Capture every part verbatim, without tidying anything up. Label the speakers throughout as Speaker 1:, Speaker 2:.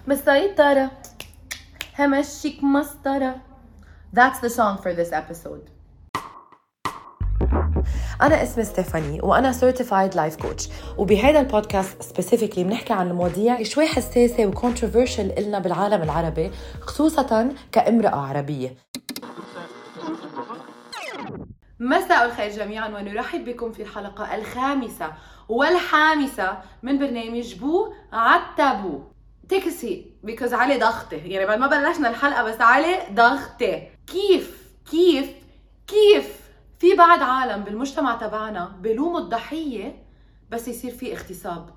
Speaker 1: مسيطرة همشيك مسطرة. That's the song for this episode.
Speaker 2: أنا اسمي ستيفاني وأنا Certified Life Coach، وبهذا البودكاست specifically بنحكي عن مواضيع شوي حساسة و controversial إلنا بالعالم العربي، خصوصاً كامرأة عربية.
Speaker 1: مساء الخير جميعاً، ونرحب بكم في الحلقة الخامسة والحامسة من برنامج بو عالتابو. تكسي because علي ضغطة، يعني بعد ما بلشنا الحلقة بس علي ضغطة. كيف كيف كيف في بعض عالم بالمجتمع تبعنا بلوموا الضحية بس يصير في اغتصاب؟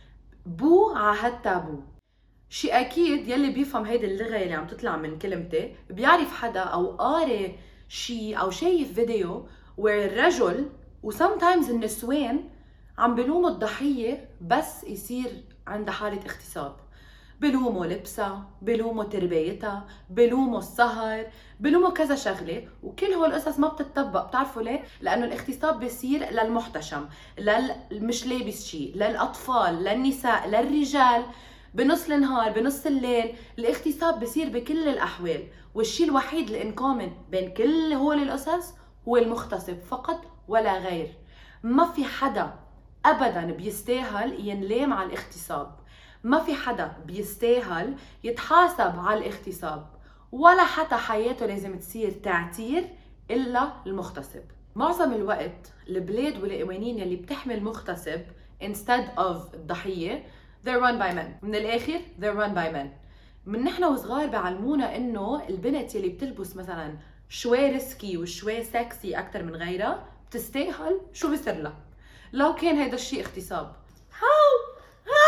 Speaker 1: بو عالتابو. شي أكيد يلي بيفهم هيدي اللغة اللي عم تطلع من كلمتي بيعرف حدا أو قاري شي أو شايف فيديو where الرجل و sometimes النسوان عم بلوموا الضحية بس يصير عندها حالة اغتصاب. بلوموا لبسها، بلوموا تربيتها، بلوموا السهر، بلوموا كذا شغلة، وكل هول القصص ما بتطبق. بتعرفوا ليه؟ لأنه الاغتصاب بيصير للمحتشم، لل مش لابس شيء، للأطفال، للنساء، للرجال، بنص النهار، بنص الليل. الاغتصاب بيصير بكل الأحوال، والشيء الوحيد الانكومن بين كل هول القصص هو المغتصب فقط ولا غير. ما في حدا أبداً بيستاهل ينلام على الاغتصاب، ما في حدا بيستاهل يتحاسب على الاغتصاب، ولا حتى حياته لازم تصير تعتير إلا المغتصب. معظم الوقت البلاد والقوانين اللي بتحمل مغتصب instead of الضحية they're run by men. من الآخر they're run by men. من نحن وصغار بعلمونا إنه البنت اللي بتلبس مثلا شوي ريسكي وشوي سكسي أكتر من غيرها بتستاهل شو بيصير لها لو كان هيدا الشيء اغتصاب. How?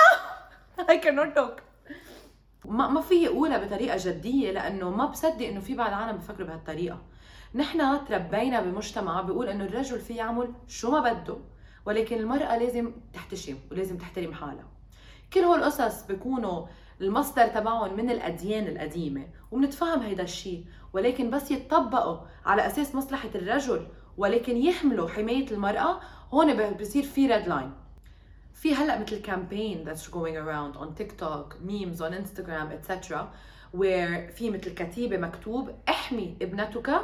Speaker 1: How? I cannot talk. ما ما في أقولها بطريقة جدية لأنه ما بصدق إنه في بعض العالم بفكروا بهالطريقة. نحن تربينا بمجتمع بيقول إنه الرجل فيه يعمل شو ما بده، ولكن المرأة لازم تحتشم ولازم تحترم حالها. كل هول القصص بيكونوا المصدر تبعهم من الأديان القديمة، وبنتفهم هيدا الشيء، ولكن بس يتطبقوا على أساس مصلحة الرجل ولكن يحملوا حماية المرأة، هون بيصير في ريد لاين. في هلأ مثل campaign that's going around on TikTok, memes on Instagram, et cetera where في مثل كتيبة مكتوب احمي ابنتك،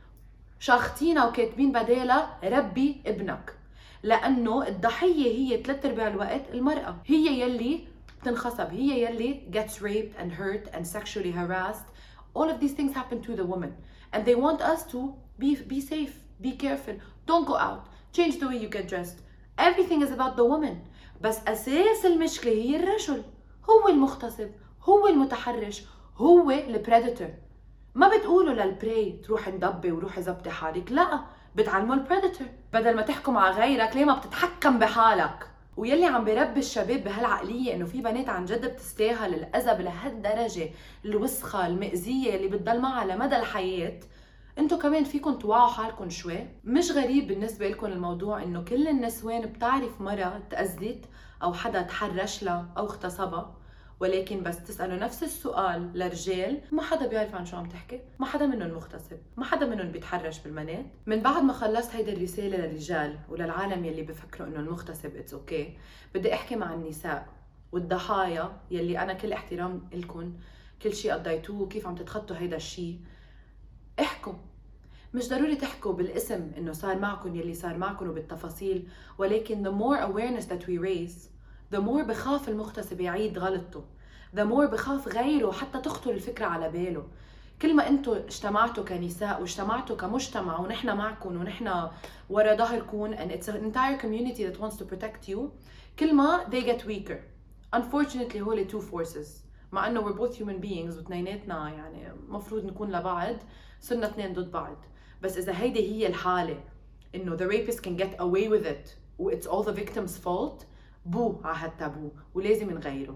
Speaker 1: شاخطينها وكاتبين بدالها ربي ابنك، لأنه الضحية هي ثلاث أرباع الوقت المرأة، هي يلي بتنخصب، هي يلي gets raped and hurt and sexually harassed. All of these things happen to the woman and they want us to be, be safe, be careful, don't go out, change the way you get dressed. Everything is about the woman. بس أساس المشكلة هي الرجل، هو المغتصب، هو المتحرش، هو البريدتور. ما بتقولوا للبري تروح ندبي وروحي زبطي حالك، لا، بتعلموا البريدتور. بدل ما تحكم على غيرك ليه ما بتتحكم بحالك؟ ويلي عم بيربي الشباب بهالعقلية انه في بنات عن جد بتستاهل الأذى لهالدرجة الوسخة المئزية اللي بتضل معها لمدى الحياة، انتو كمان فيكن توعوا حالكن شوي. مش غريب بالنسبة لكم الموضوع انه كل النسوان بتعرف مرة تأذت او حدا تحرش لها او اغتصبها، ولكن بس تسألوا نفس السؤال لرجال ما حدا بيعرف عن شو عم تحكي، ما حدا منهم مغتصب، ما حدا منهم بيتحرش بالبنات. من بعد ما خلصت هيدا الرسالة للرجال وللعالم يلي بفكروا انه المغتصب اتس اوكي okay. بدي احكي مع النساء والضحايا يلي انا كل احترام لكم، كل شيء قضيتوه وكيف عم تتخطوا هيدا الشيء. احكوا، مش ضروري تحكوا بالاسم انه صار معكم يلي صار معكم وبالتفاصيل، ولكن the more awareness that we raise the more بخاف المغتصب يعيد غلطته، the more بخاف غيره حتى تخطر الفكرة على باله. كل ما انتوا اجتمعتوا كنساء واجتمعتوا كمجتمع ونحن معكم ونحن ورا ظهركم and it's an entire community that wants to protect you، كل ما they get weaker. Unfortunately هولي two forces، مع انه we're both human beings واثنيناتنا يعني مفروض نكون لبعض، صرنا اثنين ضد بعض. بس إذا هيدي هي الحالة إنه the rapist can get away with it و it's all the victim's fault، بو عالتابو ولازم نغيره.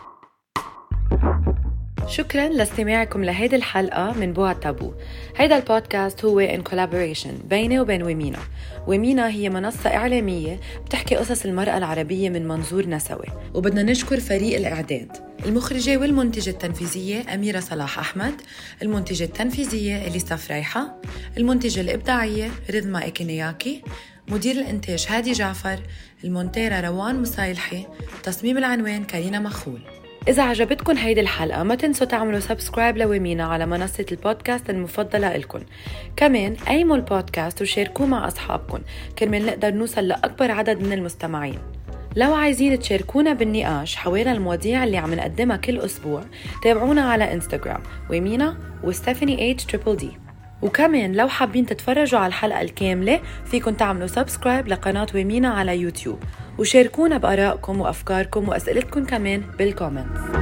Speaker 2: شكراً لاستماعكم لهيدي الحلقة من بو عالتابو. هيدا البودكاست هو in collaboration بيني وبين ومينا. ومينا هي منصة إعلامية بتحكي قصص المرأة العربية من منظور نسوي، وبدنا نشكر فريق الإعداد، المخرجة والمنتجة التنفيذية أميرة صلاح أحمد، المنتجة التنفيذية إليسا فريحة، المنتجة الإبداعية رذمة إكينياكي، مدير الإنتاج هادي جعفر، المونتيرة روان مصايلحي، تصميم العنوان كارينا مخول. إذا عجبتكن هيدي الحلقة ما تنسوا تعملوا سبسكرايب لويمينا على منصة البودكاست المفضلة إلكن. كمان قيموا البودكاست وشاركوه مع أصحابكن كرمال نقدر نوصل لأكبر عدد من المستمعين. لو عايزين تشاركونا بالنقاش حوالين المواضيع اللي عم نقدمها كل أسبوع تابعونا على إنستغرام ويمينا وستيفاني اتش تريبل دي. وكمان لو حابين تتفرجوا على الحلقة الكاملة فيكن تعملوا سبسكرايب لقناة ويمينا على يوتيوب، وشاركونا بآرائكم وأفكاركم وأسئلتكم كمان بالكومنتس.